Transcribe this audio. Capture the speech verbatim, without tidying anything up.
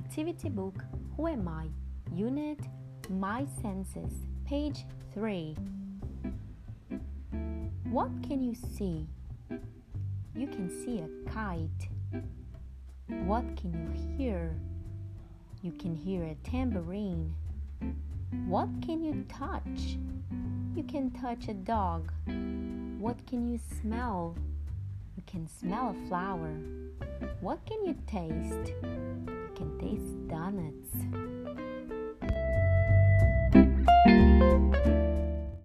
Activity Book Who Am I? Unit My Senses, page three. What can you see? You can see a kite. What can you hear? You can hear a tambourine. What can you touch? You can touch a dog. What can you smell? You can smell a flower. What can you taste? You can taste donuts.